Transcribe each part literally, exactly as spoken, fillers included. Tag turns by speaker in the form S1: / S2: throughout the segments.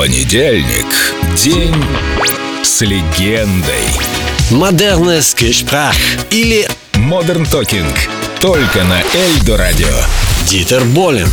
S1: Понедельник. День с легендой.
S2: Modernes Gespräch или
S1: Modern Talking. Только на Эльдо Радио.
S2: Дитер Болен.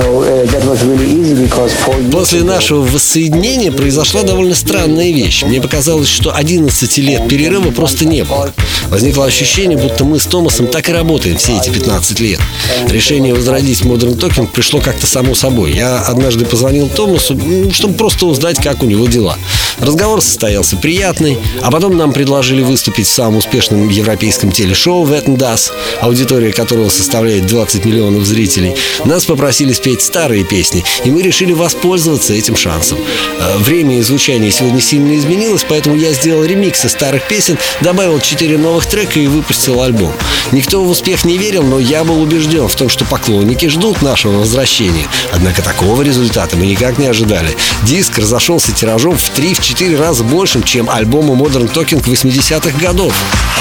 S2: После нашего воссоединения произошла довольно странная вещь. Мне показалось, что одиннадцать лет перерыва просто не было. Возникло ощущение, будто мы с Томасом так и работаем все эти пятнадцать лет. Решение возродить Modern Talking пришло как-то само собой. Я однажды позвонил Томасу, чтобы просто узнать, как у него дела. Разговор состоялся приятный, а потом нам предложили выступить в самом успешном европейском телешоу «Wetten, das», аудитория которого составляет двадцать миллионов зрителей. Нас попросили спеть старые песни, и мы решили воспользоваться этим шансом. Время и звучание сегодня сильно изменилось, поэтому я сделал ремиксы старых песен, добавил четыре новых трека и выпустил альбом. Никто в успех не верил, но я был убежден в том, что поклонники ждут нашего возвращения. Однако такого результата мы никак не ожидали. Диск разошелся тиражом в три-четыре раза большим, чем альбомы Modern Talking восьмидесятых годов.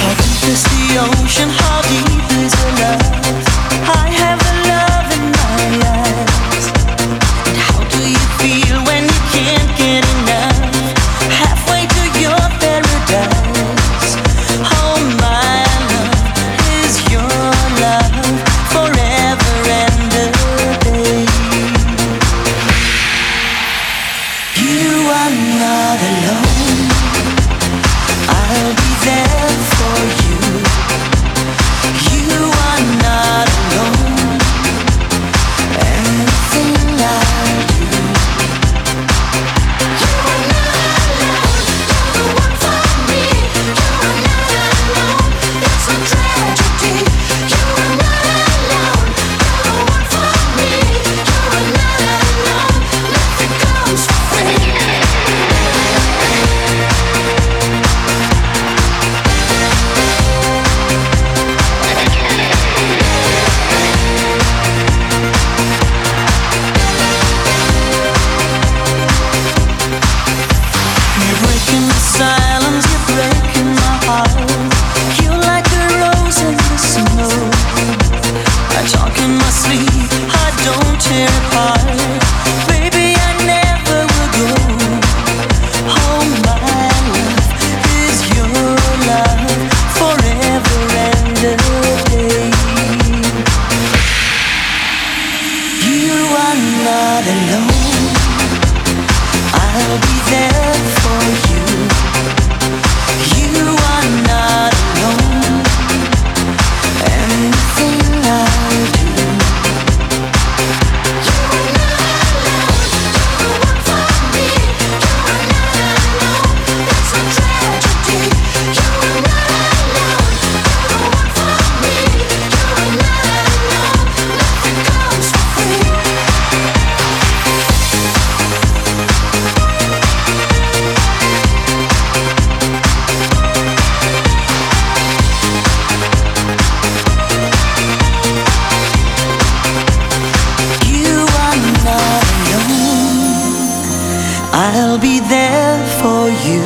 S3: I'll be there for you.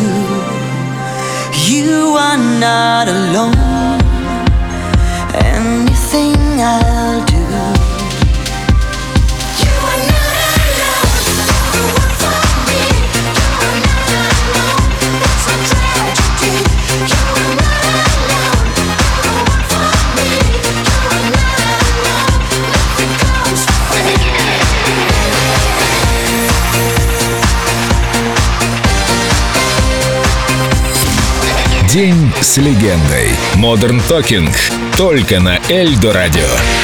S3: You are not alone. Anything I'll do. You are not alone. The one for me. You are not alone. That's a tragedy. You are not alone. The one for me. You are not alone. Nothing comes free.
S1: День с легендой. Modern Talking. Только на Эльдо Радио.